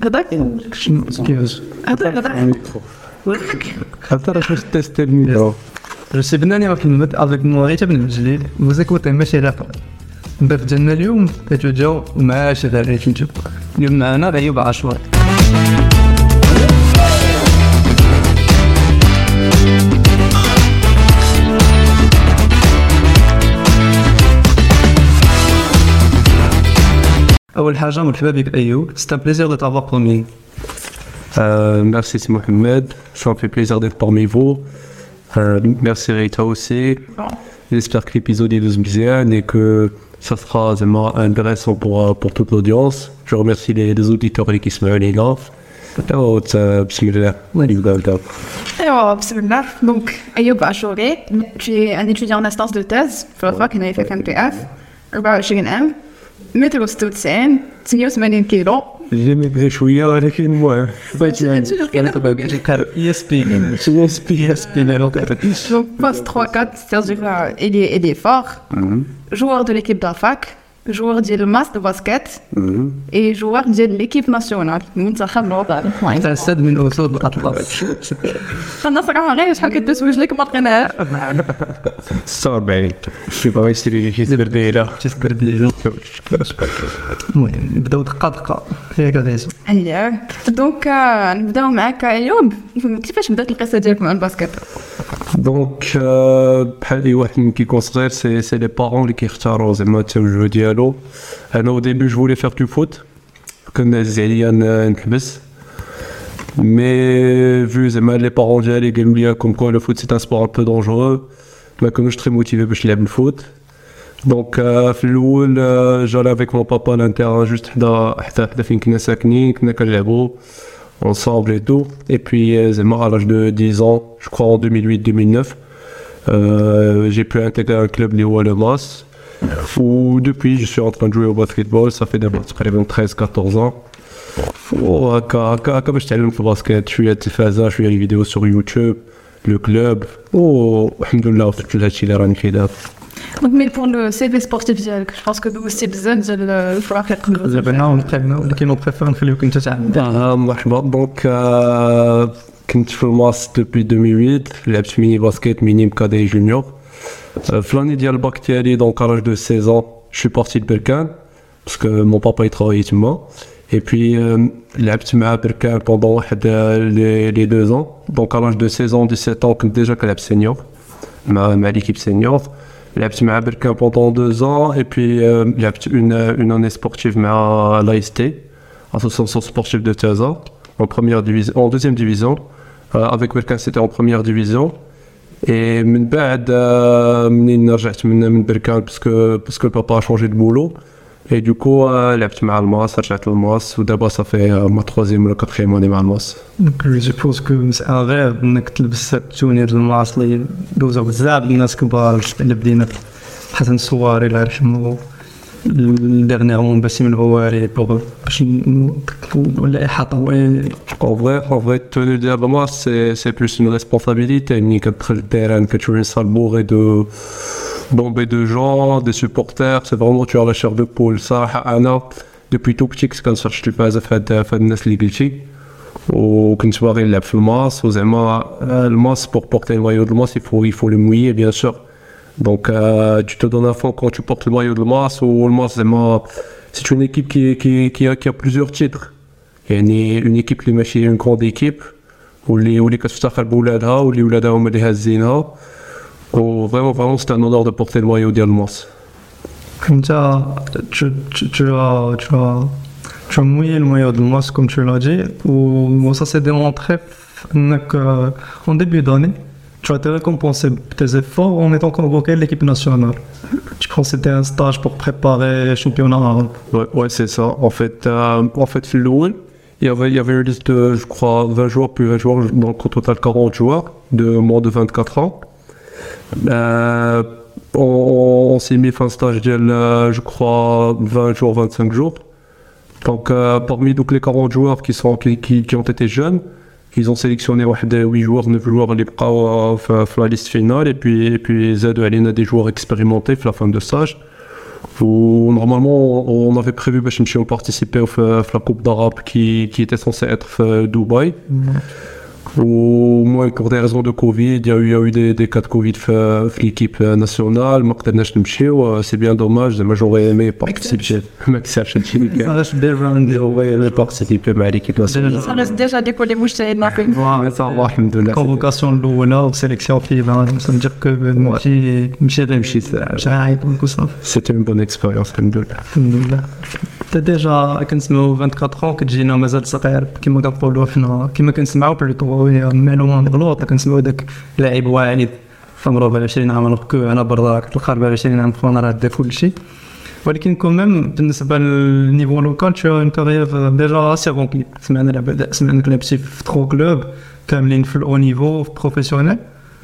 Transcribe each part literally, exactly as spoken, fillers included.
هذاك كيفاش هذاك هذاك حتى راه واش تيست الميكرو رسبناني واحد المد افيك موريتا بن الجليل وزاك وتا ماشي لاقا ندير جانا اليوم كتوجاو مع شذا نشوف اليوم معنا غيوب عاشور أول حاجة مرحبا بك أيوب c'est un plaisir de t'avoir parmi Euh, merci c'est Mohamed, ça me fait plaisir d'être parmi vous. Euh, merci Rita aussi. J'espère que l'épisode est bien et que ça sera vraiment intéressant pour, pour toute l'audience. Je remercie les, les auditeurs qui sont là. Bismillah. Alors, bismillah. Donc, Ayoub Achouri, tu es un étudiant en instance de thèse في الوفاة كنا في M P F أربعة وعشرين عام متر وستة وتسعين ثمانية وثمانين كيلو J'ai maigri chouïa ولكن المهم E S P E S P E S P donc poste trois quatre c'est-à-dire euh, il est il est fort joueur de l'équipe d'Afak joueur ديال الماس de basket et joueur ديال l'équipe nationale المنتخب الوطني تاع سد من أسود الأطلس انا صراحه غير شحال كتسوج لك ما لقيناها ستة وأربعين شي بغا يشري شي سبرديله شي سبرديله المهم نبداو دقه دقه ياك غادي اييه دونك نبداو معاك ايوب كيفاش بدات القصه ديالك مع الباسكت دونك بحال اي واحد كيكون صغير سي سي لي بارون اللي كيختاروا زعما التوجه ديالو انا او ديبي جو فولي فير دو فوت كان عزيز عليا نحبس مي فو زعما لي بارون ديالي قالوا لي كوم كو لو فوت سي ان سبور ان بو دونجورو ما كانوش تري موتيفي باش نلعب الفوت دونك في الاول جالي افيك مون بابا لان تيران جوست حدا حدا حدا فين كنا ساكنين كنا كنلعبوا ensemble et tout. Et puis, à l'âge de dix ans, je crois en deux mille huit deux mille neuf, euh, j'ai pu intégrer un club Léo Alemas, où depuis je suis en train de jouer au basketball, ça fait d'abord treize quatorze ans. Comme je t'aime au basket, je suis à Tifaza, je fais des vidéos sur YouTube, le club. Oh, alhamdoulilah, tout le hachis la rani khida. Donc, mais pour le C V sportif, je pense que nous aussi besoin de le faire quelque chose. زعما ونتكلموا ولكن نبريفير نخليوك انت تعمل مرحبا دونك كنت في الماس دوبي deux mille huit لعبت ميني باسكيت ميني مكادي جونيور في لاني ديال الباك ديالي دونك à l'âge de seize ans je suis parti de Berkane parce que mon papa il travaillait تما et puis لعبت مع Berkane pendant واحد les deux ans donc à l'âge de seize ans dix-sept ans كنت déjà كنلعب senior مع مع l'équipe senior لعبت مع Berkane pendant deux ans et puis لعبت une une année sportive مع l'A S T association sportive de Taza en première division en deuxième division euh, avec Berkane c'était en première division et من بعد منين رجعت من من Berkane parce que parce que le papa a changé de boulot et du coup لعبت مع الماس رجعت للماس ودابا ça fait ma troisième ou quatrième année مع الماس. Donc je suppose que c'est un rêve انك تلبس التونير الماس اللي دوزو بزاف الناس كبار اللي بدينا حسن الصواري الله يرحمه dernièrement Bassim El-Houari pour باش ولا احاطه En vrai, en vrai, tenue de la moi, c'est, c'est plus une responsabilité. Ni que le terrain, que tu es une salle bourrée de bombée de gens, des supporters. C'est vraiment, tu as la chair de poule. Ça, Anna, depuis tout petit, quand je suis pas à faire de nas ligichi, ou quand tu vois il lève le masque, ou zéma, le masque pour porter le maillot de masque, il faut, il faut le mouiller, bien sûr. Donc, euh, tu te donnes à fond quand tu portes le maillot de masque, ou le masque, zéma, c'est une équipe qui, qui, qui, a, qui a plusieurs titres. يعني une équipe اللي ماشي une grande équipe واللي واللي كتفتخر بولادها واللي ولادها هما اللي هازينها و vraiment vraiment c'est un honneur de porter le maillot ديال الماس. انت tu tu tu as tu as tu as mouillé le maillot de Mons comme tu l'as dit ou ça s'est démontré انك en début d'année tu as été récompensé pour tes efforts en étant convoqué à l'équipe nationale. Tu penses que c'était un stage pour préparer le championnat arabe? Ouais, ouais, c'est ça. En fait, euh, en fait, Philoul, il y avait, il y avait une liste de, je crois, vingt joueurs, puis vingt joueurs, donc au total quarante joueurs, de moins de vingt-quatre ans. Euh, on on s'est mis fin stage, je crois, vingt jours, vingt-cinq jours. Donc, euh, parmi donc, les quarante joueurs qui, sont, qui, qui, qui ont été jeunes, ils ont sélectionné huit joueurs, neuf joueurs اللي بقاو في la liste finale et puis et puis زادوا علينا des joueurs expérimentés في la fin de stage où normalement on avait prévu de participer à la Coupe d'Arabe qui, qui était censée être à Dubaï. Ou moi, pour des raisons de Covid, il y a eu, il y a eu des, des cas de Covid dans l'équipe nationale. C'est bien dommage, mais j'aurais aimé participer. J'aurais participer à l'équipe nationale. Ça reste déjà décollé mouche de la convocation l'Oula, sélection qui va me dire que c'était une bonne expérience. Tu as déjà vingt-quatre ans que tu es مازال صغير كما كنقولوا حنا كما كنسمعوا بلوطو معلومه مغلوطه كنسمعوا داك لاعب واعد عمره ب عشرين عام ركوع على برا الخارج ب عشرين عام فانا راه دا كل شيء ولكن كوميم بالنسبه للنيفو لوكال tu as une carrière déjà assez remplie سمعنا لعب سمعنا لعبتي في ترو كلوب كاملين في الاو نيفو بروفيسيونيل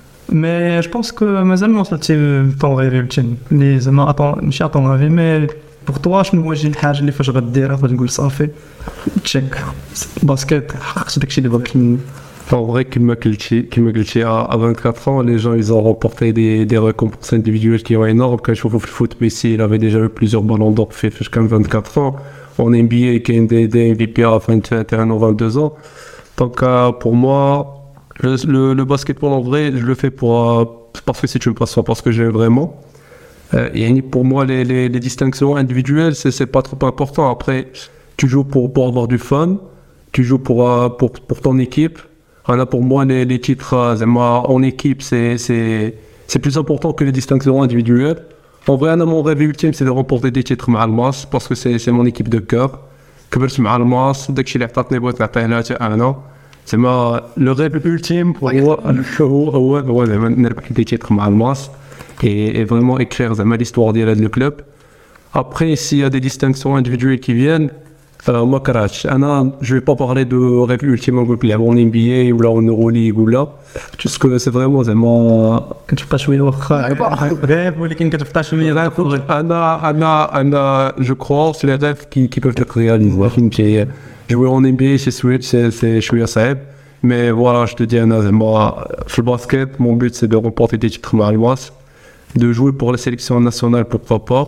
مي جو بونس كو مازال ما وصلتي طون غير التيم اللي زعما ماشي طون غير مي pour toi شنو هو شي حاجه اللي فاش غديرها فاش تقول صافي تشيك باسكيت حققت داكشي اللي بغيت منه. En vrai, comme je l'ai dit, à vingt-quatre ans, les gens ils ont remporté des, des récompenses individuelles qui sont énormes. Quand je trouve le foot, Messi il avait déjà eu plusieurs ballons d'or fait jusqu'à vingt-quatre ans. En N B A, qui est des, des M V P à vingt et un ou vingt-deux ans. Donc euh, pour moi, le, le, le basketball en vrai, je le fais pour, euh, parce que c'est une passion, parce que j'aime vraiment. Euh, et pour moi, les, les, les distinctions individuelles, c'est, c'est pas trop important. Après, tu joues pour, pour avoir du fun, tu joues pour, euh, pour, pour ton équipe. Voilà, pour moi, les, les titres euh, en équipe, c'est, c'est, c'est plus important que les distinctions individuelles. En vrai, mon rêve ultime, c'est de remporter des titres مع الماس, parce que c'est, c'est mon équipe de cœur. كبرت مع الماس, داكشي اللي عطاتني بغيت نعطيه لها حتى انا. زعما لو ريف ultime هو هو هو هو زعما نربح des titres مع الماس. Et, et vraiment écrire l'histoire de le club. Après, s'il y a des distinctions individuelles qui viennent, alors moi, je ne vais pas parler de rêve ultime en N B A ou là en Euroleague ou là, parce que c'est vraiment vraiment. Quand tu passes au rêve, ou quand tu passes au rêve, Anna, Anna, Anna, je crois, c'est les rêves qui, qui peuvent être réalisés. Jouer en N B A, c'est Switch, c'est, c'est, je suis assez. Mais voilà, je te dis, Anna, moi, le basket, mon but c'est de remporter des titres marois. De jouer pour la sélection nationale, pourquoi pas,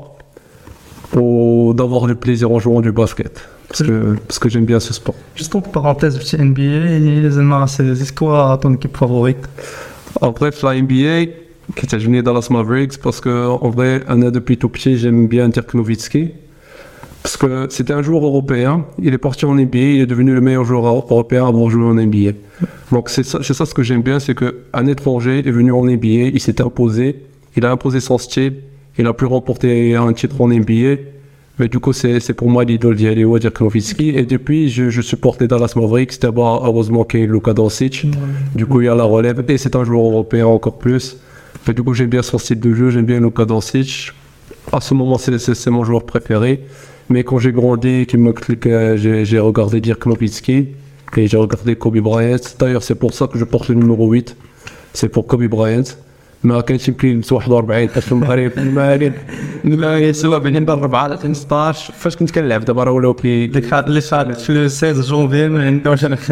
ou d'avoir le plaisir en jouant du basket, parce que, parce que j'aime bien ce sport. Juste en parenthèse, du N B A, c'est quoi ton équipe favorite? En bref, la N B A, qui est venu dans Dallas Mavericks, parce que en vrai, Anna, depuis tout petit, j'aime bien Dirk Nowitzki, parce que c'était un joueur européen, il est parti en N B A, il est devenu le meilleur joueur européen avant de jouer en N B A. Donc c'est ça, c'est ça ce que j'aime bien, c'est qu'un étranger est venu en N B A, il s'est imposé. Il a imposé son style, il a pu remporter un titre en N B A, mais du coup c'est, c'est pour moi l'idole d'Yalewa Dirk Nowitzki, et depuis je, je supporte les Dallas Mavericks, d'abord heureusement qu'il y a Luka Doncic, du coup il y a la relève, et c'est un joueur européen encore plus, mais du coup j'aime bien son style de jeu, j'aime bien Luka Doncic, à ce moment c'est, c'est, c'est mon joueur préféré, mais quand j'ai grandi, j'ai, j'ai regardé Dirk Nowitzki, et j'ai regardé Kobe Bryant, d'ailleurs c'est pour ça que je porte le numéro huit, c'est pour Kobe Bryant. ما كانش يمكن نلبس واحد وأربعين حتى المغرب المغرب المغرب سوا بين أربعة ل خمسطاش فاش كنت كنلعب دابا راه ولاو كي ديك اللي صارت في ستة جونفي ما عندناش انا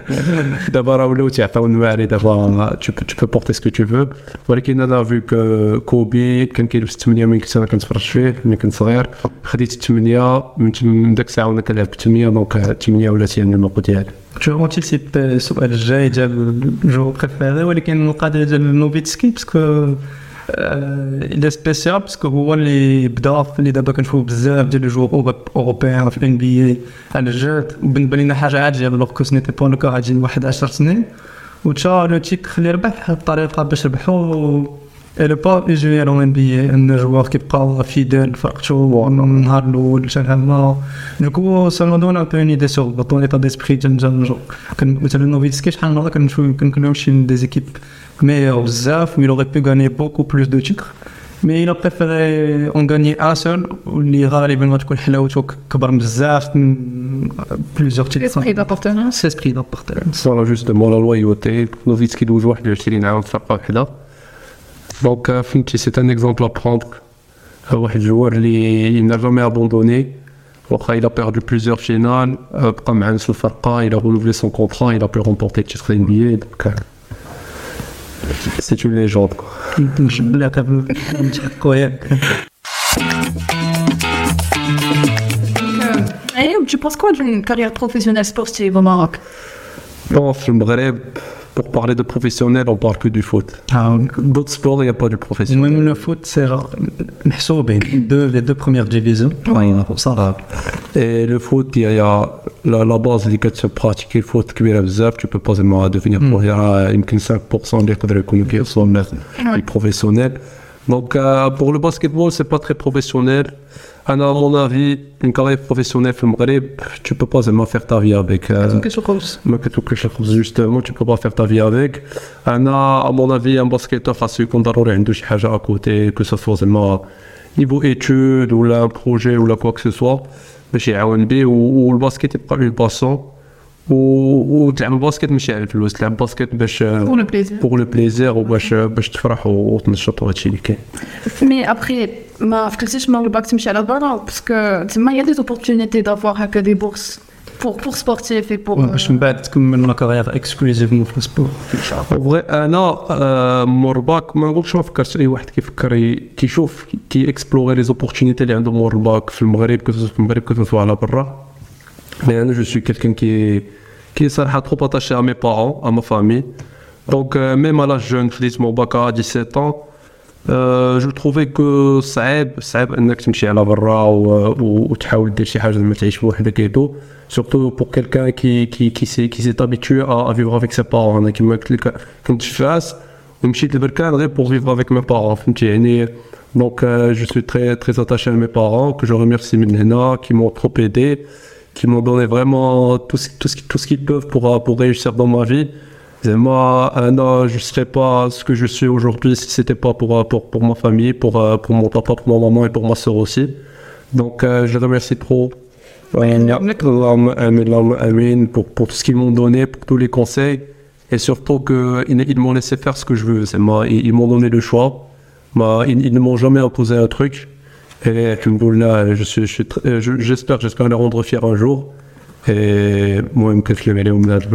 دابا راه ولاو تيعطيو المغرب دابا tu peux tu peux porter ce que tu veux ولكن انا فيو كوبي كان كيلبس ثمانية من كنت انا كنتفرج فيه ملي كنت صغير خديت ثمانية من داك الساعه وانا كنلعب ثمانية دونك ثمانية ولات هي النمط ديالي. جو انتيسيب السؤال الجاي ديال الجو بريفيري ولكن القضيه ديال نوفيتسكي باسكو il est spécial parce que هو اللي بدا اللي دابا كنشوفوا بزاف ديال لي جوغ اوروبيان في ان بي اي على الجد وبالنسبه لنا حاجه عاديه لو كو سنيتي با لو كا غادي واحد عشر سنين وتا لو تيك اللي ربح الطريقه باش ربحوا elle pas usuelle en N B A un joueur qui parle fidèle فرقته من النهار الاول حتى لهنا دوكو ça me donne un peu une idée sur ton état d'esprit ديال الجو كان مثلا نوفيتسكي شحال من مره كنشوف كنكونوا شي دي زيكيب meilleur بزاف il aurait pu gagner beaucoup plus de titres mais il a préféré en gagner un seul واللي غالبا غتكون حلاوته كبر بزاف من plusieurs titres esprit d'appartenance c'est esprit d'appartenance voilà justement la loyauté نوفيتسكي دوز واحد وعشرين عام في فرقه وحده donc فهمتي c'est un exemple à prendre واحد الجوار اللي il n'a jamais abandonné واخا il a perdu plusieurs finales بقى مع نفس الفرقه il a renouvelé son contrat il a pu remporter le titre N B A donc c'est une légende quoi. لا كان tu penses quoi d'une carrière professionnelle sportive au Maroc? Bon, في المغرب, pour parler de professionnel, on parle que du foot. Ah, D'autres sports, il n'y a pas de professionnel. même le foot, c'est rare. محسوبين deux, les deux premières divisions. Ouais, ça va. Et le foot, il y a la, la base اللي كتبراتيكي الفوت كبيرة بزاف, tu peux pas seulement devenir professionnel, يمكن cinq pour cent اللي يقدروا يكونوا كيوصلوا للبروفيسيونيل. Donc euh, pour le basketball, c'est pas très professionnel. À mon avis, une carrière professionnelle au Maghreb, tu peux pas seulement faire ta vie avec. Euh, justement, tu peux pas faire ta vie avec. À mon avis, un basketteur face à ضروري عنده شي حاجة à côté, que ce soit seulement niveau études ou là un projet ou là quoi que ce soit, باش يعاون بيه. والباسكت يبقى une passion. وتلعب الباسكت ماشي على الفلوس, تلعب الباسكت باش pour le plaisir pour le plaisir وباش باش تفرح وتنشط وهادشي اللي كاين. Mais après, ما فكرتيش من الباك تمشي على برا باسكو تما il y a des opportunités d'avoir هكا des bourses pour pour sportifs et pour باش من بعد تكمل لا كارير اكسكلوزيفمون في السبور. فغي انا مور الباك ما نقولش ما فكرتش اي واحد كيفكر كيشوف كي اكسبلوري لي زوبورتونيتي اللي عنده مور الباك في المغرب كيف في المغرب كيف على برا. Mais je suis quelqu'un qui est, qui est trop attaché à mes parents, à ma famille. Donc, euh, même à l'âge jeune, je dis mon bac à dix-sept ans, euh, je trouvais que صعب صعب انك تمشي على برا وتحاول دير شي حاجه ما تعيش بوحدك et tout. Surtout pour quelqu'un qui qui qui s'est qui s'est habitué à, à vivre avec ses parents. انا كيما قلت لك كنت في فاس ومشيت لبركان غير pour vivre avec mes parents. فهمتي يعني. Donc, euh, je suis très très attaché à mes parents que je remercie من هنا, qui m'ont trop aidé, qui m'ont donné vraiment tout ce, tout ce, tout ce qu'ils peuvent pour, pour réussir dans ma vie. Et moi, euh, non, je ne serais pas ce que je suis aujourd'hui si ce n'était pas pour, pour, pour ma famille, pour, pour mon papa, pour ma maman et pour ma soeur aussi. Donc, euh, je les remercie trop pour, pour tout ce qu'ils m'ont donné, pour tous les conseils. Et surtout qu'ils ils m'ont laissé faire ce que je veux. C'est moi, ils, ils m'ont donné le choix. Moi, ils, ils ne m'ont jamais imposé un truc. Et là, je suis, je suis très, je, j'espère, j'espère les rendre fiers un jour. Et moi, je me kiffe les au Mnad.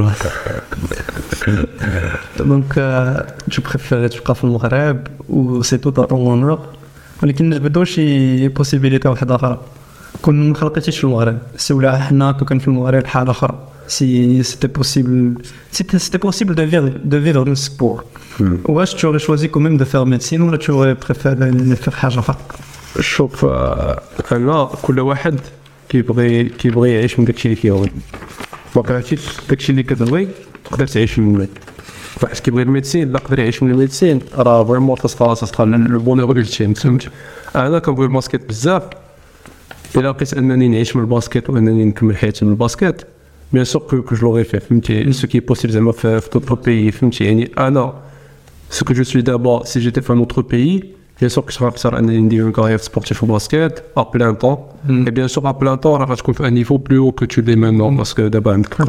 Donc, tu préfères تبقى في المغرب و سي تو dans ton honneur. ولكن نجبدو شي possibilité واحدة أخرى. كون ما خلقتيش في المغرب, سي ولا حنا كون كان في المغرب حالة أخرى. Si c'était possible, c'était, c'était possible de vivre, de vivre le sport. Ou est-ce que tu aurais choisi quand même de faire médecine ou tu aurais préféré faire حاجة أخرى? شوف انا كل واحد كيبغي كيبغي يعيش من داكشي اللي كيبغي. ما كرهتيش داكشي اللي كتبغي تقدر تعيش منه. واحد كيبغي الميديسين لا يقدر يعيش من الميديسين راه فريمون تصفى تصفى لو بونور الجيم. فهمت. انا كنبغي الباسكيت بزاف. الا لقيت انني نعيش من الباسكيت وانني نكمل حياتي من الباسكيت بيان سور كو كو جو لوغي في. فهمتي سو كي بوسيبل زعما في توت بيي. فهمتي يعني انا سو كو جو سوي دابا سي جيتي في ان اوتر بيي. Bien sûr que je vais faire une carrière sportive au basket à plein temps. Mm. Et bien sûr, à plein temps, tu vas à un niveau plus haut que tu l'es maintenant. Mm. Parce que d'abord, tu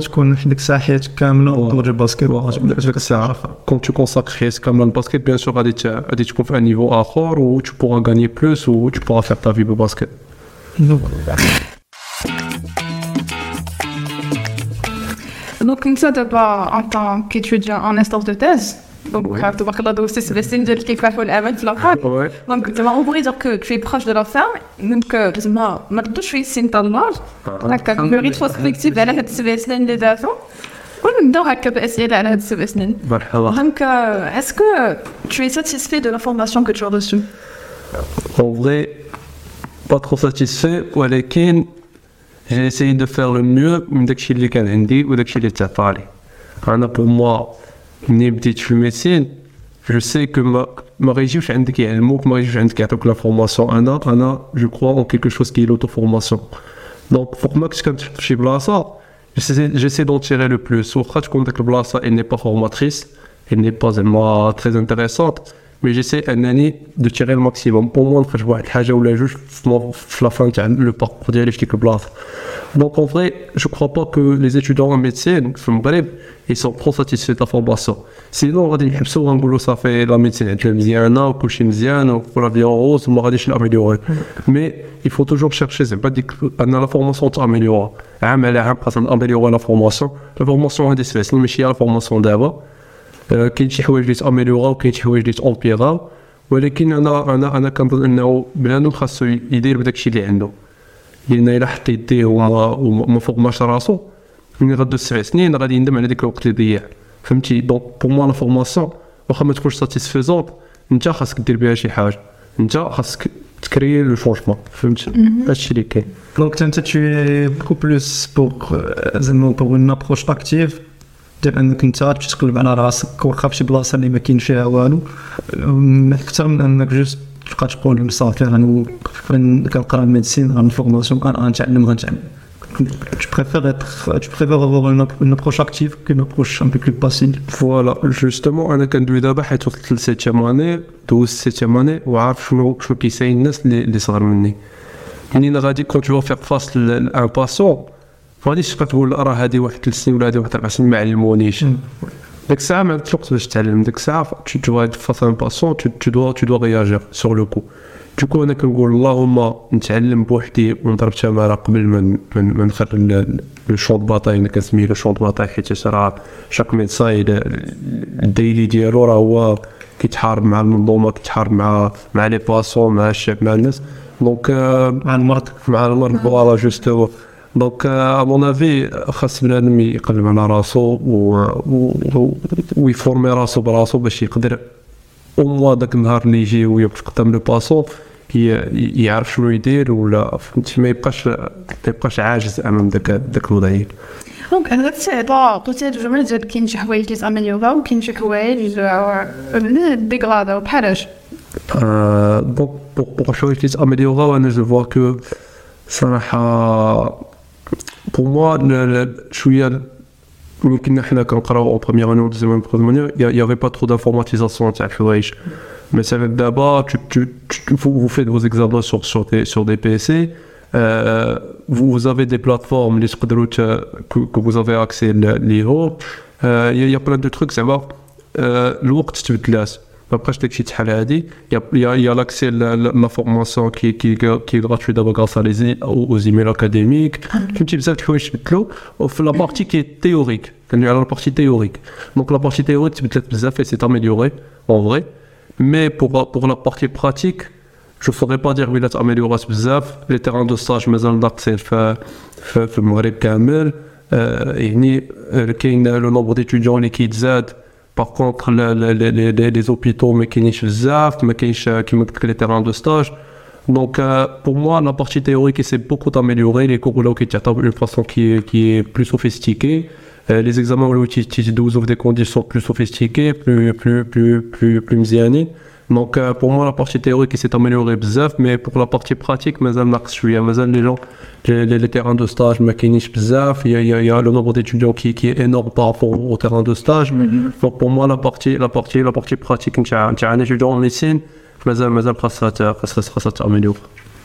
quand tu consacres comme le basket, bien sûr, tu vas à un niveau à fort où tu pourras gagner plus ou tu pourras faire ta vie au basket. Donc, Donc, ça, en tant qu'étudiant en instance de thèse, donc, tu vas regarder aussi sur les signes de l'équipe pour l'avant de la femme. Donc, tu vas on pourrait dire que tu es proche de la femme. Donc, tu vas me toucher signe de l'âge. Donc, le rétrospective, elle a cette semaine des enfants. On me donne à quel point elle a cette semaine. Donc, est-ce que tu es satisfait de l'information que tu as reçue? En vrai, pas trop satisfait. ولكن j'ai essayé de faire le mieux من داكشي اللي كان عندي وداكشي اللي تعطى لي. أنا pour moi ملي بديت في الميديسين جو سي كو ما ما غيجيوش عندك يعلموك ما غيجيوش عندك يعطوك لا فورماسيون. انا انا جو كرو اون كيلكو شوز كي لوتو فورماسيون. دونك فوق ما كنت كنمشي في شي بلاصه جيسي دون تيري لو بلوس. واخا تكون ديك البلاصه elle n'est pas formatrice, elle n'est pas زعما très intéressante, mais j'essaie انني دو تيري الماكسيموم بور موا نخرج بواحد الحاجه ولا جوج في لا فان تاع لو باركور ديالي في ديك البلاصه. Donc en vrai, je crois pas que les étudiants en médecine, ils sont trop satisfaits de la formation. Sinon, on va dire que ça fait la médecine, tu es bien, ou que je suis bien, ou pour la vie en rose, on va dire que je suis amélioré. Mais il faut toujours chercher, c'est pas dire que la formation est améliorée. Mais améliorer la formation, la formation est difficile, mais il y a la formation d'avant. كاين شي حوايج اللي تاميليوراو وكاين شي حوايج اللي تامبيراو ولكن انا انا انا كنظن انه بنادم خاصو يدير بداك الشيء اللي عنده. لان الا حط يديه وما وما فورماش راسو من غدو سبع سنين غادي يندم على ديك الوقت اللي ضيع فهمتي. دونك بور موا لا فورماسيون واخا ما تكونش ساتيسفيزونت انت خاصك دير بها شي حاجه انت خاصك تكري لو شونجمون فهمت هادشي اللي كاين. دونك انت tu es beaucoup plus pour زعما pour une approche active ديال انك انت تمشي تقلب على راسك واخا فشي بلاصه اللي ما كاينش فيها والو اكثر من انك جوست تبقى تقول صافي انا كنقرا ميديسين غنفورماسيون غنتعلم غنتعلم. Tu préfères être, tu préfères avoir une, une approche active qu'une approche un peu plus passive. Voilà, justement, أنا كندوي دابا حيت وصلت للسيتيام اني دوزت السيتيام اني وعارف شنو شنو كيساين الناس اللي اللي صغار مني. منين غادي كون تو فيغ فاس لان باسون ما غاديش تبقى تقول راه هذه واحد ثلاث سنين ولا هذه واحد أربع سنين ما علمونيش. ديك الساعة ما عندكش وقت باش تعلم، ديك الساعة tu dois être face à un patient, tu, tu dois tu dois réagir sur le coup. Du coup أنا كنقول اللهم نتعلم بوحدي ونضرب تمارة قبل ما من من نخرج لو شون دو باطاي اللي كنسميه لو شون دو باطاي حيت راه شاك ميدساي الديلي ديالو راه هو كيتحارب مع المنظومة كيتحارب مع مع لي باسون مع الشعب مع الناس دونك مع المرض مع المرض فوالا جوستو. دونك ا مون افي خاص بنادم يقلب على راسو و ويفورمي راسو براسو باش يقدر او موا داك النهار اللي يجي ويوقف قدام لو باسون يعرف شنو يدير ولا فهمتي ما يبقاش ما يبقاش عاجز امام داك داك الوضعيه. دونك انا تسعطا قلت هاد الجمله ديال كاين شي حوايج اللي تامليوها وكاين شي حوايج ديغرادا بحال اش دونك بوغ شويه اللي تامليوها وانا جو فوا كو صراحه pour moi شويه يمكن حنا كنقراو اون بروميير اني و دوزيام اني il y avait pas trop d'informatisation تاع الحوايج مثلا دابا vous faites vos examens sur sur des sur des P C euh, vous avez des plateformes اللي تقدروا que vous avez accès ليهم il y a plein de trucs زعما الوقت تبدلات ما بقاش داكشي تحال هادي يا يا لاكسي لا فورماسيون كي كي كي غراتوي دابا غراس على لي او زيميل اكاديميك فهمتي بزاف د الحوايج تبدلوا وفي لا بارتي كي تيوريك كندوي على لا بارتي تيوريك دونك لا بارتي تيوريك تبدلات بزاف اي سي اميليوري اون فري مي بور بور لا بارتي براتيك جو فوري با دير ويلات اميليورات بزاف لي تيران دو ستاج مازال ناقصين في في المغرب كامل يعني كاين لو نومبر ديتيديون اللي كيتزاد. Par contre, les, les, les, les hôpitaux, mais qui n'est qui me les terrains de stage. Donc, euh, pour moi, la partie théorique s'est beaucoup améliorée. Les cours là qui sont d'une façon qui est, qui est plus sophistiquée. Euh, les examens où qui ouvrent des conditions plus sophistiquées, plus, plus, plus, plus, plus mziani. Donc, euh, pour moi, la partie théorique s'est améliorée bzaf, mais pour la partie pratique, mazal naqs shouya, mazal les gens, les, les, les terrains de stage, ma kinish bzaf, il y a, il y a, il y a le nombre d'étudiants qui, qui est énorme par rapport au terrain de stage. Mm-hmm. Donc, pour moi, la partie, la partie, la partie pratique, tu as un étudiant en médecine, mazal, mazal, ça s'améliore.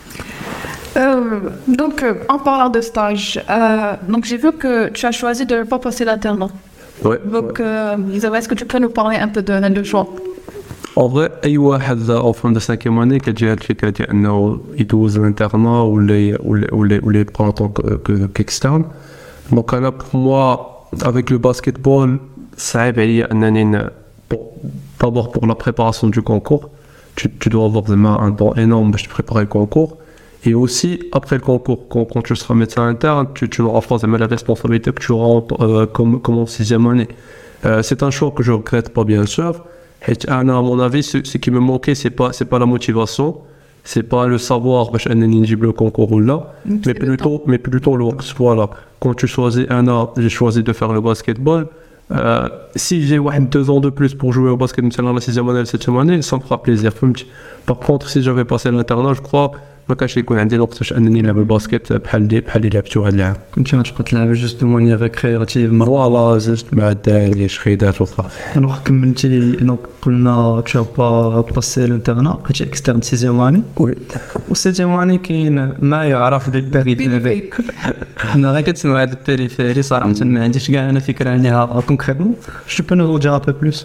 Euh, donc, euh, en parlant de stage, euh, donc j'ai vu que tu as choisi de ne pas passer l'alternat. Ouais. Donc, euh, est-ce que tu peux nous parler un peu de de choix? En vrai, أي واحد en fin de cinquième année كتجي هاد الفكرة ديال أنه يدوز الانترنا ولا ولا ولا ولا يبقى en tant qu'externe. Donc أنا pour moi avec le basketball صعيب عليا أنني d'abord pour la préparation du concours tu, tu dois avoir vraiment un temps énorme باش préparer le concours et aussi après le concours quand, quand tu seras médecin interne tu, tu auras forcément la responsabilité que tu auras euh, comme, comme en sixième année. Euh, c'est un choix que je regrette pas bien sûr. Et à mon avis, ce, ce qui me manquait, c'est pas, c'est pas la motivation, c'est pas le savoir, bah, le concours ou là, mais plutôt, mais plutôt le work. Voilà. Quand tu choisis un an, j'ai choisi de faire le basketball. Euh, si j'ai ouais, deux ans de plus pour jouer au basket, dans la sixième année, la septième année, ça me fera plaisir. Par contre, si j'avais passé l'internat, je crois, ما كانش يكون عندي الوقت باش انني نلعب الباسكت بحال دي بحال اللي لعبتو هاد العام. كنت غتبقى تلعب جوست دو مانيير ريكرياتيف فوالا جوست مع الدراري خيدات وصافي. alors كملتي دونك قلنا tu as pas passé l'internat كنت اكسترن سيزيام اني وي وسيزيام اني كاين ما يعرف بالبيريفيري انا غير كنسمع هاد البيريفيري صراحه ما عنديش كاع انا فكره عليها كونكريتمون جو بو نو دير ان بو بلوس.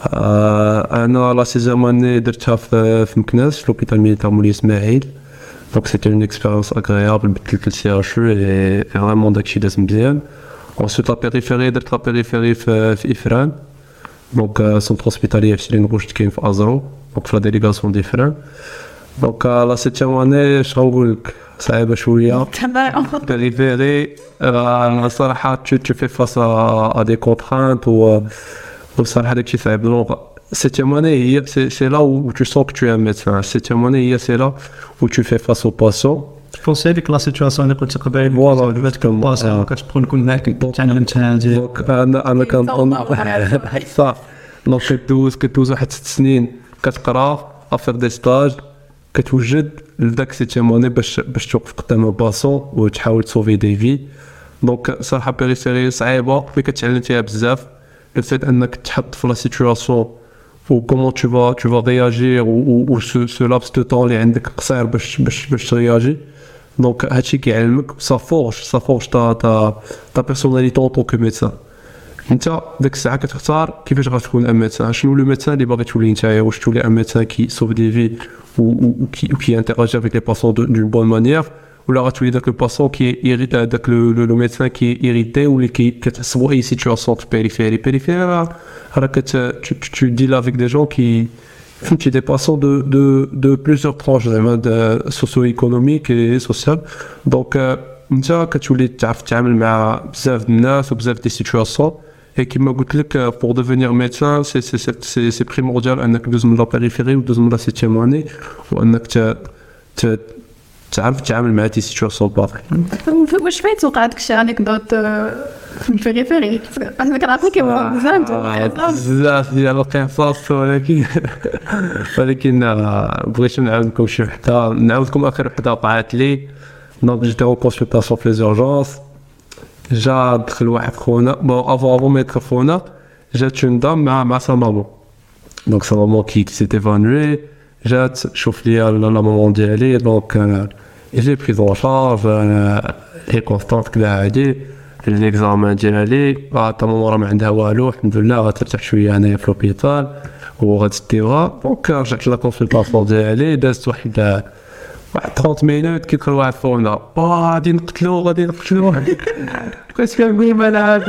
انا لا سيزيام اني درتها في مكناس في لوبيتال ميليتير مولاي اسماعيل. Donc c'était une expérience agréable, le C H E et vraiment d'accident bien. Ensuite la périphérie, d'être la périphérie في إفران. Donc centre hospitalier في سيرين روج كاين في أزرو. Donc في la délégation d'Ifrane. دونك لا سيتيام اني اش غنقول لك صعيبه شويه تمام. فيري فيري الصراحه tu tu fais face à à des contraintes ou وصراحه داكشي صعيب. دونك septième année هي c'est c'est là où tu sens que tu es un médecin. septième année هي c'est là où tu fais face aux patients. فونسي هذيك لا سيتواسيون اللي قلت قبيل فوالا جبت كم باسا كتبقى نكون معاك تعلم انت هادي دونك انا انا كنظن صح. دونك كدوز كدوز واحد ست سنين كتقرا افير دي ستاج كتوجد لذاك سيتيام اني باش باش توقف قدام الباسون وتحاول تسوفي دي في. دونك صراحه بيريفيري صعيبه مي كتعلم فيها بزاف. Le fait انك تحط في لا سيتواسيون و comment tu vas tu vas réagir ou ou, ou ce ce laps de temps اللي عندك قصير باش باش باش ترياجي. دونك هادشي كيعلمك سا فورج سا فورج تا تا تا بيرسوناليتي اون طونك ميدسان. انت ديك الساعه كتختار كيفاش غتكون ان ميدسان. شنو لو ميدسان اللي باغي تولي نتايا؟ واش تولي ان ميدسان كي سوف دي في و كي كي انتراجي افيك لي باسون دون بون مانيير ولا غتولي داك الباسون كي يريت داك لو ميدسان كي ايريتي واللي كي كتحسبوا اي سيتواسيون بيريفيري بيريفيري راه كت tu deals avec des gens qui فهمتي دي باسون دو دو دو بليزيور ترونش زعما سوسيو ايكونوميك اي سوسيال. دونك انت كتولي تعرف تتعامل مع بزاف د الناس وبزاف دي سيتواسيون. اي كيما قلت لك بور ديفينير ميدسان سي سي سي سي بريمورديال انك دوز من لا بيريفيري ودوز من لا سيتيام اني وانك ت تعرف تتعامل مع دي سيتواسيون باطل. واش فايت وقع داك الشيء انكدوت في البيريفيري؟ انا كنعرف كيما بزاف بزاف ديال القصص ولكن ولكن بغيت نعاود لكم شي وحده نعاود لكم اخر وحده وقعت لي. دونك جيت اون كونسلطاسيون في لي زورجونس جا دخل واحد خونا بون افون افون ما يدخل خونا جات اون دام مع مع سا مامون. دونك سا مامون كي سيت ايفانوي جات شوف لي لا مامون ديالي. دونك جي بريز اون شارج لي كونستانت كدا عادي ليكزامان ديالي تا ماما راه ما عندها والو الحمد لله غترتاح شويه انايا في لوبيتال وغتديوها. دونك رجعت لا كونسلطاسيون ديالي دازت واحد واحد ثلاثين مينوت كيدخل واحد فونا غادي نقتلو غادي نقتلو بقيت كنقول مال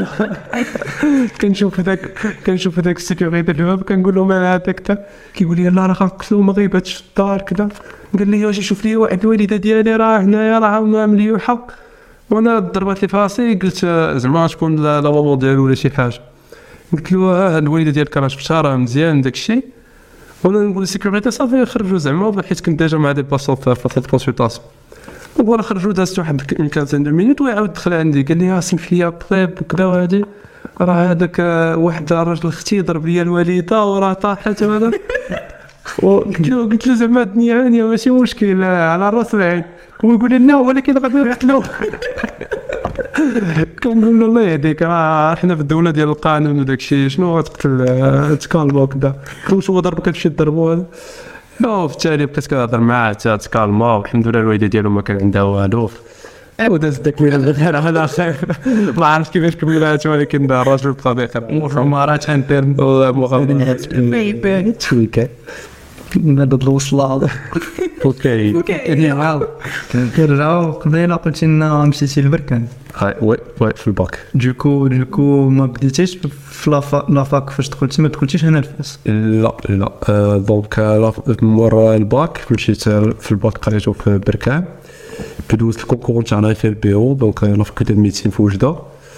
كنشوف هذاك كنشوف هذاك السيكوريتي في الباب كنقول له مال هذاك تا كيقول لي لا راه غنقتلو ما غيباتش في الدار كذا. قال لي واش شوف لي واحد الوالده ديالي راه هنايا راه مليوحه وانا ضربت لي فاسي قلت زعما تكون لا مامون ديالو ولا شي حاجه. قلت له الوالده ديالك راه شفتها راه مزيان داكشي وانا نقول السيكوريتي صافي خرجوا زعما حيت كنت ديجا مع دي باسون في فاصل الكونسلطاسيون. ولا خرجوا دازت واحد خمسطاش مينوت ويعاود دخل عندي قال لي سمح لي طيب وكذا وهادي راه هذاك واحد الراجل اختي ضرب لي الوالده وراه طاحت وهذا. وقلت له قلت له زعما الدنيا عاديه ماشي مشكل على راس العين. ويقول لي لا ولكن غادي نقتلو. كنقول له الله يهديك راه حنا في الدوله ديال القانون وداك الشيء شنو غتقتل تكالمو كذا. واش هو ضربك هادشي ضربو هذا؟ لا في التالي بقيت كنهضر معاه حتى تكالما والحمد لله الوالده ديالو ما كان عندها والو. ايوا داز داك الغير على خير ما عرفت كيفاش كملات ولكن الراجل بطبيعه مرات انترن والله مغامرات بيبي تويكا نبدا الوصله. اوكي اوكي عاود كنرجعو قبيله قلت لنا مشيتي للبركان. وي وي في الباك. دوكو دوكو ما بديتيش في لافاك فاش دخلتي ما دخلتيش هنا لفاس؟ لا لا دونك مور الباك مشيت في الباك قريتو في بركان دوزت الكونكور تاعنا في البيرو. دونك لا فاكولتي دو ميديسين في وجده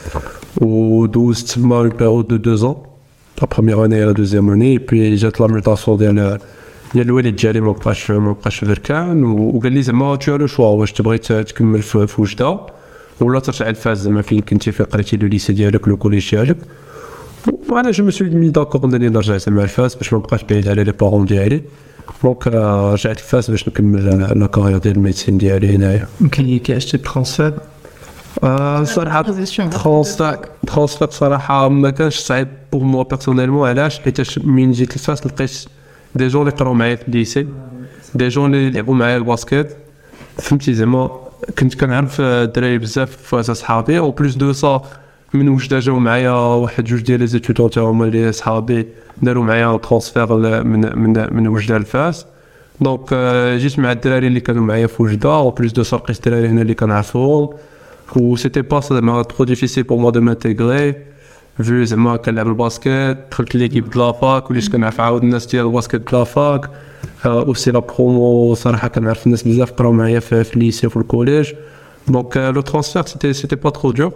ودوزت تما البيرو دو دو زون لا بروميير اني لا دوزيام اني بي جات لا ميوطاسيون ديال ديال الوالد ديالي ما بقاش ما بقاش في بركان وقال لي زعما تو لو شوا واش تبغي تكمل في وجده ولا ترجع لفاس زعما فين كنتي في قريتي لو ليسي ديالك لو كوليج ديالك. وانا جو مسوي مي داكور انني نرجع زعما لفاس باش ما نبقاش بعيد على لي بارون ديالي. دونك رجعت لفاس باش نكمل لا كارير ديال الميديسين ديالي هنايا. يمكن كي عشتي ترانسفير صراحه ترانسفير ترانسفير صراحه ما كانش صعيب بور موا بيرسونيلمون. علاش؟ حيت من جيت لفاس لقيت دي جون اللي قراو معايا في الليسي دي جون اللي لعبوا معايا الباسكيت فهمتي زعما كنت كنعرف الدراري بزاف في صحابي او بلوس دو سا من وجده جاو معايا واحد جوج ديال لي زيتودون تاعهم اللي صحابي داروا معايا ترانسفير من من من وجده لفاس. دونك جيت مع الدراري اللي كانوا معايا في وجده او بلوس دو سا لقيت الدراري هنا اللي كنعرفهم و سيتي با زعما ترو ديفيسيل بور موا دو مانتيغري فيو زعما كنلعب الباسكيت دخلت ليكيب د لافاك وليت كنعرف عاود الناس ديال الباسكيت د لافاك aussi la promo صراحة كنعرف الناس بزاف قراو معايا في في الليسي وفي الكوليج دونك لو ترانسفير سيتي سيتي با ترو دور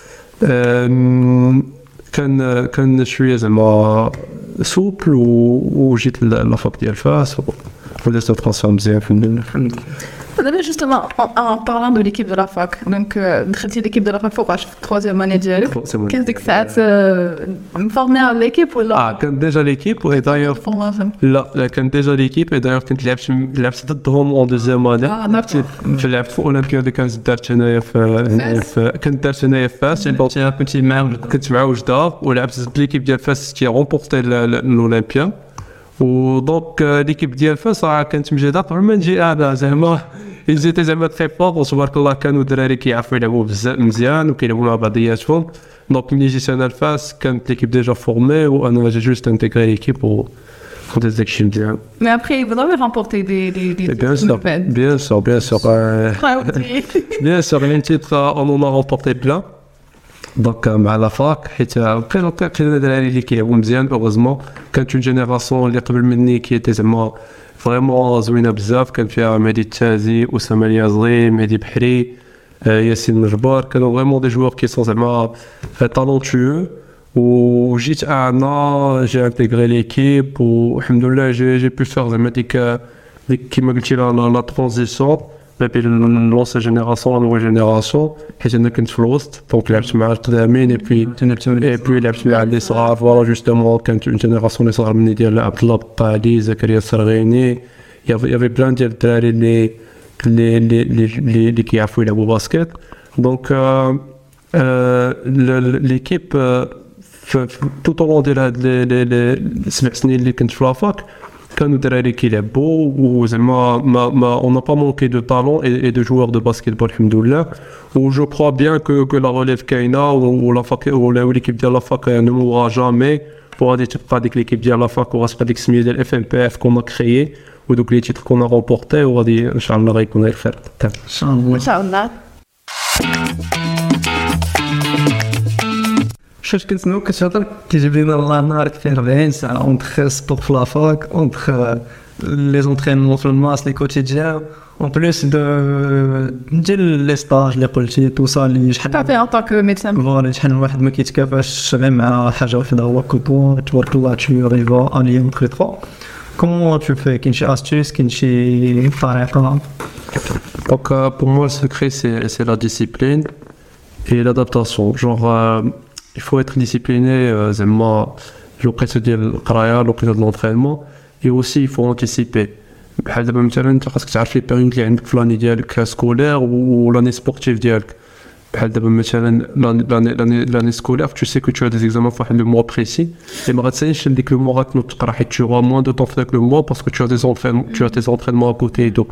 كان كان شويه زعما سوبل وجيت لافاك ديال فاس ودرت ترانسفير مزيان في D'abord, justement, en, en parlant de l'équipe de la fac, donc, euh, l'équipe de la fac, faut troisième année de qu'est-ce que ça te me former à l'équipe ou là? Ah, quand déjà l'équipe, et d'ailleurs, là, quand déjà l'équipe, et d'ailleurs, quand لعبت لعبت ضدهم en deuxième année. Ah, d'accord. لعبت في أولمبياد كانت درت أنايا في كنت درت أنايا في فاس. J'ai un petit merde. كنت مع وجدة ولعبت ضد l'équipe ديال فاس qui a remporté l'Olympia. ودونك ليكيب ديال فاس راه كانت مجهده قبل ما نجي انا زعما جيت زعما تري فور وتبارك الله كانوا الدراري كيعرفوا يلعبوا بزاف مزيان وكيلعبوا مع بعضياتهم دونك ملي جيت انا لفاس كانت ليكيب ديجا فورمي وانا جي جوست انتيغري ليكيب و وداز داكشي مزيان. Mais après vous avez remporté des des des bien sûr bien sûr bien sûr bien sûr les titres on en a remporté plein. دونك مع لافاك حيت بقينا بقينا الدراري اللي كيلعبوا مزيان اوغوزمون كانت اون جينيراسيون اللي قبل مني كي زعما فريمون زوينه بزاف كان فيها مهدي التازي اسامه اليازغي مهدي بحري ياسين مجبار كانوا فريمون دي جوار كي سون زعما تالونتيو وجيت انا جي انتيغري ليكيب والحمد لله جي جي بو فير زعما ديك ديك كيما قلتي لا ترانزيسيون بين لونسي جينيراسيون لا نوفيل جينيراسيون حيت انا كنت في الوسط دونك لعبت مع القدامين اي بي اي بي لعبت مع لي صغار فوالا جوستومون كانت اون جينيراسيون لي صغار مني ديال عبد الله بقالي زكريا السرغيني يافي بلان ديال الدراري اللي اللي اللي اللي كيعرفوا يلعبوا باسكيت دونك ليكيب توت اون ديال هاد لي سبع سنين اللي كنت في لافاك كانوا دراري كيلعبوا وزعما ما ما اون نا با مونكي دو طالون اي دو جوار دو باسكيتبول الحمد لله و جو كرو بيان كو كو لا ريليف كاينه ولا فاك ولا ليكيب ديال لا فاك نمورا جامي وغادي تبقى ديك ليكيب ديال لا فاك وغتبقى ديك السميه ديال اف ام بي اف كون كريي ودوك لي تيتر كون رومبورتي وغادي ان شاء الله غيكون غير خير ان شاء الله ان شاء الله. شفت كنسمعو كتهضر كيجيب لينا الله نهار فيه أربعين ساعة اونتخ سبور في لافاك اونتخ لي زونترينمون في الماس لي كوتيديان اون بليس دو ديال لي ستاج اللي قلتي توصل لي شحال تعرفي ان طاك ميدسان فوالا شحال واحد ما كيتكافاش غير مع حاجه واحده هو كوطون تبارك الله tu arrives à lier entre les trois. Comment tu fais كاين شي astuce كاين شي طريقه؟ Donc euh, pour moi le secret c'est c'est la discipline et l'adaptation genre euh, il faut être discipliné زعما الوقيته ديال القرايه الوقيته ديال l'entraînement et aussi il faut anticiper بحال دابا مثلا انت خاصك تعرف لي بيريود اللي عندك في لاني ديالك سكولير ولاني سبورتيف ديالك بحال دابا مثلا لاني لاني سكولير tu sais que tu as des examens في واحد لو موا بريسي et ما غاتساليش ديك لو موا غتنوض تقرا حيت tu auras moins de temps في داك لو موا parce que tu as des entraînements tu as tes entraînements à côté donc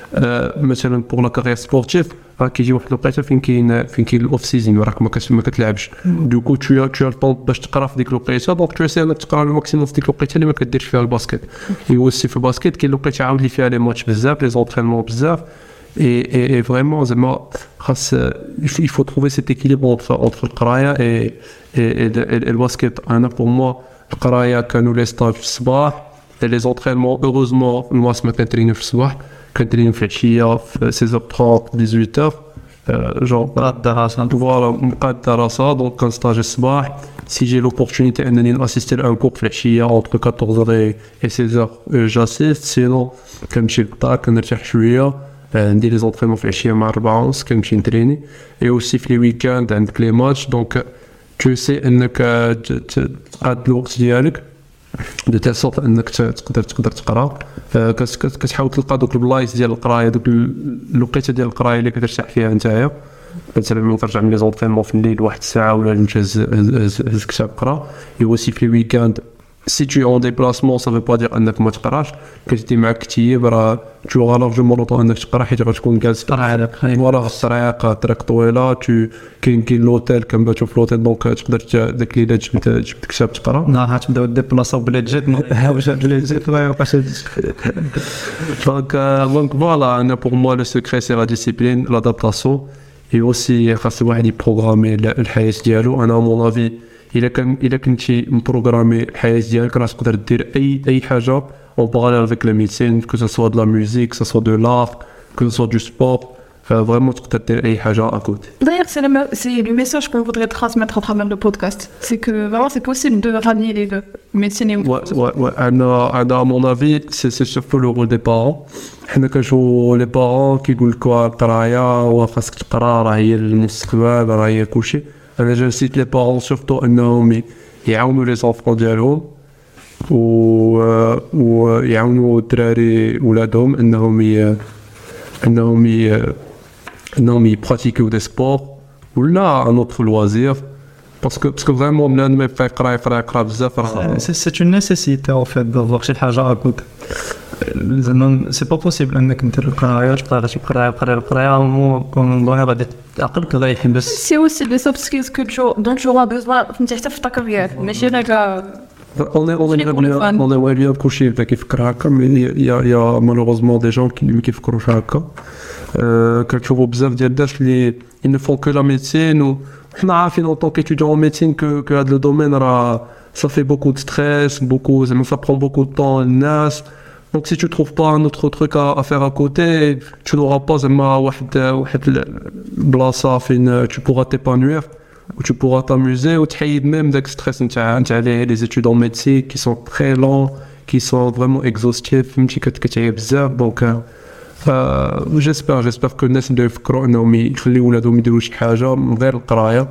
مثلا pour la carrière sportive راه كيجي واحد الوقيته فين كاين فين كاين الاوف سيزون راك ما ما كتلعبش دوكو تو تو الطون باش تقرا في ديك الوقيته دونك تو سي انك تقرا الماكسيموم في ديك الوقيته اللي ما كديرش فيها الباسكيت ويوسي في الباسكيت كاين الوقيته عاود لي فيها لي ماتش بزاف لي زونترينمون بزاف اي اي فريمون زعما خاص il faut trouver cet équilibre entre entre القرايه اي اي الباسكيت انا بور موا القرايه كانوا لي ستاج في الصباح لي زونترينمون اوروزمون الماس ما كنتريني في الصباح كنتريني في العشيه في ستة heures trente ثمانية heures جون بقات الدراسه فوالا بقات الدراسه دونك كنستاجي الصباح سي جي لوبورتونيتي انني ناسيستي لان كور في العشيه اونتر أربعطاش heures et seize heures جاسيست سينو كنمشي للدار كنرتاح شويه ندير لي زونطرينمون في العشيه مع أربعة ونص كنمشي نتريني اي اوسي في لي ويكاند عندك لي ماتش دونك تو سي انك تقاد الوقت ديالك دو تيل سورت انك تقدر تقدر تقرا كتحاول تلقى دوك البلايص ديال القرايه دوك الوقيته ديال القرايه اللي كترتاح فيها نتايا مثلا ملي ترجع من لي زونطرينمون في الليل واحد الساعه ولا نمشي هز كتاب قرا اي اوسي في لي ويكاند si tu es en déplacement ça veut pas dire انك ما تقراش كتدي معك كتيب راه tu auras largement le temps انك تقرا حيت غتكون جالس طريق فوالا الطريق طريق طويله تو كاين كاين لوتيل كنباتو في لوتيل دونك تقدر داك الليله جبت جبت كتاب تقرا نهار تبداو ديبلاصاو بلا جيت واش بلا جيت ما يبقاش دونك دونك فوالا انا بور موا لو سيكري سي لا ديسيبلين لادابتاسيون اي اوسي خاص الواحد يبروغرامي الحياه ديالو انا مون افي الا كان الا كنتي مبروغرامي الحياه ديالك راه تقدر دير اي اي حاجه اون باراليل افيك لا ميديسين كو سو سوا دو لا ميوزيك سو سوا دو لار كو سو دو سبور فريمون تقدر دير اي حاجه اكوتي. D'ailleurs, c'est le, me- c'est le message qu'on voudrait transmettre à travers le podcast. C'est que vraiment, c'est possible de rallier les deux, médecine et Ouais, ouais, ouais. انا انا à mon avis c'est c'est surtout le rôle des parents. حنا كنشوفوا لي بارون كيقول لك القرايه وخاصك تقرا راه هي المستقبل راه هي كلشي. انا جو سيت لي بارون سورتو انهم يعاونوا لي زونفون ديالهم و ويعاونوا الدراري ولادهم انهم ي... انهم ي... انهم يبراتيكيو دي سبور ولا ان اوتر لوازير باسكو باسكو فريمون بنادم ما يبقى يقرا يقرا يقرا بزاف راه C'est c'est une nécessité en fait d'avoir شي حاجة à côté. زعما سي با بوسيبل انك دير القرايه تقرا شي قرايه قرايه قرايه مو كون غادي عقلك غادي يحبس. C'est aussi des soft skills que tu, dont tu auras besoin فهمتي حتى في ta carrière. ماشي غير On est, on est, on est, on est ouais, bien couché avec Ifkraka, mais il y a, il y a malheureusement des gens qui qui font Kraka. Quand tu vois بزاف ديال الناس اللي ils ne font que la médecine ou حنا عارفين en tant qu'étudiant en médecine que que هذا le domaine راه ça fait beaucoup de stress, beaucoup ça prend beaucoup de temps الناس. Donc si tu trouves pas un autre truc à, à faire à côté, tu n'auras pas زعما واحد واحد البلاصة فين tu pourras t'épanouir. Où tu pourras t'amuser ou تحيد même داك stress نتاع نتاع les études en médecine qui sont très longs qui sont vraiment exhaustifs فهمتي كتعيا بزاف دونك j'espère j'espère que الناس اللي يفكروا انهم يخليو ولادهم يديروا شي حاجه من غير القرايه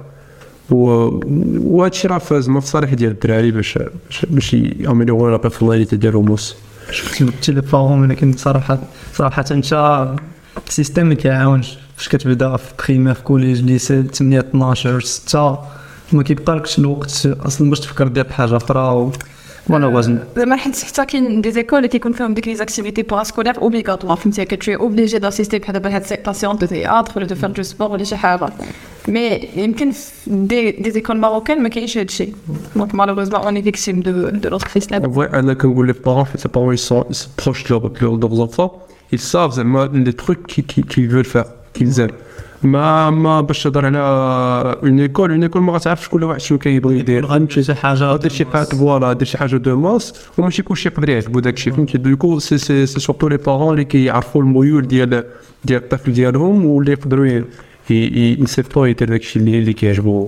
وهادشي راه فاز ما في صالح ديال الدراري باش باش ياميليورو لا بيرسوناليتي ديالهم موس. شفت قلت لي بارون ولكن صراحه صراحه انت السيستم ما كيعاونش فاش كتبدا في بريمير في كوليج ليسي ثمانية اثناش ستة ما كيبقالكش الوقت اصلا باش تفكر دير بحاجه اخرى ولا وزن. زعما حيت حتى كاين دي زيكول اللي كيكون فيهم ديك لي زاكتيفيتي باراسكولير اوبليغاتوار فهمتي كتشي اوبليجي داسيستي بحال دابا هاد سيك باسيون دو تياتر ولا دو فير دو سبور ولا شي حاجه مي يمكن دي دي زيكول ماروكان ما كاينش هادشي دونك مالوغوزمون اوني فيكتيم دو دو لوتر سيستيم. En vrai, انا كنقول لي بارون في les parents ils sont ils sont proches de leurs de leurs enfants ils savent زعما les trucs qu'ils qu'ils veulent faire qu'ils aiment. ما ما باش تهضر على اون ايكول اون ايكول ما غتعرفش كل واحد شنو كيبغي يدير غنمشي شي حاجه دير شي حاجه فوالا دير شي حاجه دو ماس وماشي كلشي يقدر يعجبو داكشي فهمتي دوكو سي سي سي سورتو لي بارون اللي كيعرفوا الميول ديال ديال الطفل ديالهم واللي يقدروا يصيفطوا يدير داكشي اللي اللي كيعجبو.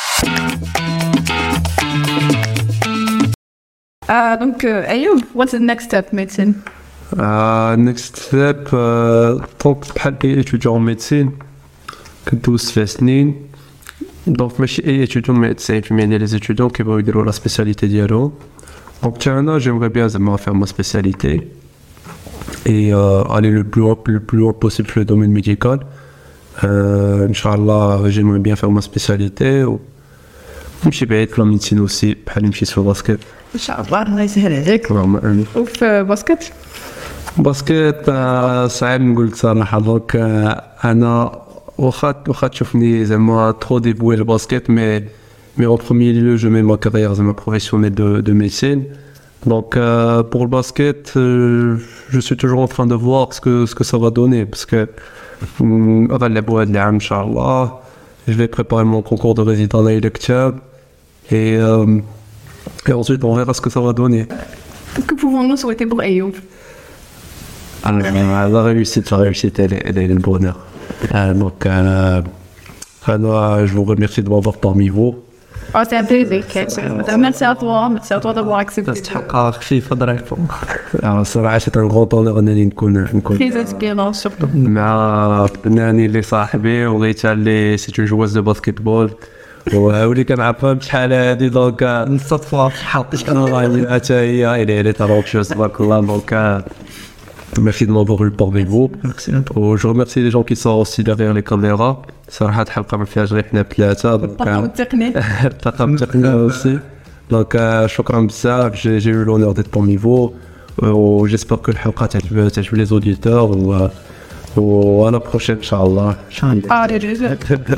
اه دونك ايوب what's the next step medicine? next step طونك بحال اي étudiant en médecine كندوز فيها سنين دونك ماشي اي étudiant مي تسعين بالمية ديال les étudiants كيبغيو يديروا لا سبيسياليتي ديالهم دونك حتى انا جيمغي بيان زعما faire ma spécialité et euh, aller le plus loin le plus loin possible في le domaine médical. euh, Inch'Allah j'aimerais bien faire ma spécialité و نمشي بعيد في la médecine aussi بحال مشيت في الباسكت ان شاء الله الله يسهل عليك. اللهم امين. وفي باسكت باسكت صعيب نقول لك صراحه دونك انا واخا واخا تشوفني زعما ترو ديفوي الباسكت مي مي en premier lieu je mets ma carrière زعما professionnelle de de médecine donc euh, pour le basket euh, je suis toujours en train de voir ce que ce que ça va donner parce que غادي نلعبوا هاد العام ان شاء الله je vais préparer mon concours de résident l'année d'octobre et euh, et ensuite on verra ce que ça va donner. Que pouvons-nous souhaiter pour Ayoub? Alors, la réussite, la réussite, elle est, elle est le bonheur. Euh, donc, euh, alors, je vous remercie de m'avoir parmi vous. Oh, c'est un plaisir. Merci à toi, merci à toi d'avoir accepté. تستحق خفيفه ضريفه. Alors, صراحة c'est un grand honneur انني نكون نكون Très inspirant surtout. مع فناني اللي صاحبي وغيتا اللي سي اون جواز دو باسكيتبول واللي كنعرفها بشحال هادي دونك الصدفه حاطش انا حتى هي اللي اللي تروكشوس تبارك الله دونك merci de m'avoir eu parmi vous. Merci à toi. Je remercie les gens qui sont aussi derrière les caméras. صراحة حلقة ما فيهاش غير حنا بثلاثة. الطاقم التقني. الطاقم التقني aussi. Donc شكرا بزاف. J'ai j'ai eu l'honneur d'être parmi vous. J'espère que الحلقة تعجب تعجب les auditeurs و و à la prochaine إن شاء الله. ان شاء الله. Ah, déjà.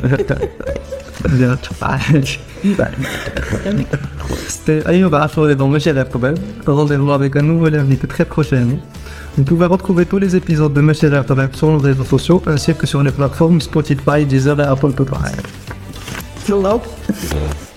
C'était Ayoub Achouri dans Monsieur Rêve Tobel. Rendez-vous avec un nouvel invité très prochainement. Vous pouvez retrouver tous les épisodes de Monsieur Rêve Tobel sur nos réseaux sociaux ainsi que sur les plateformes Spotify, Deezer et Apple Podcast. Hello.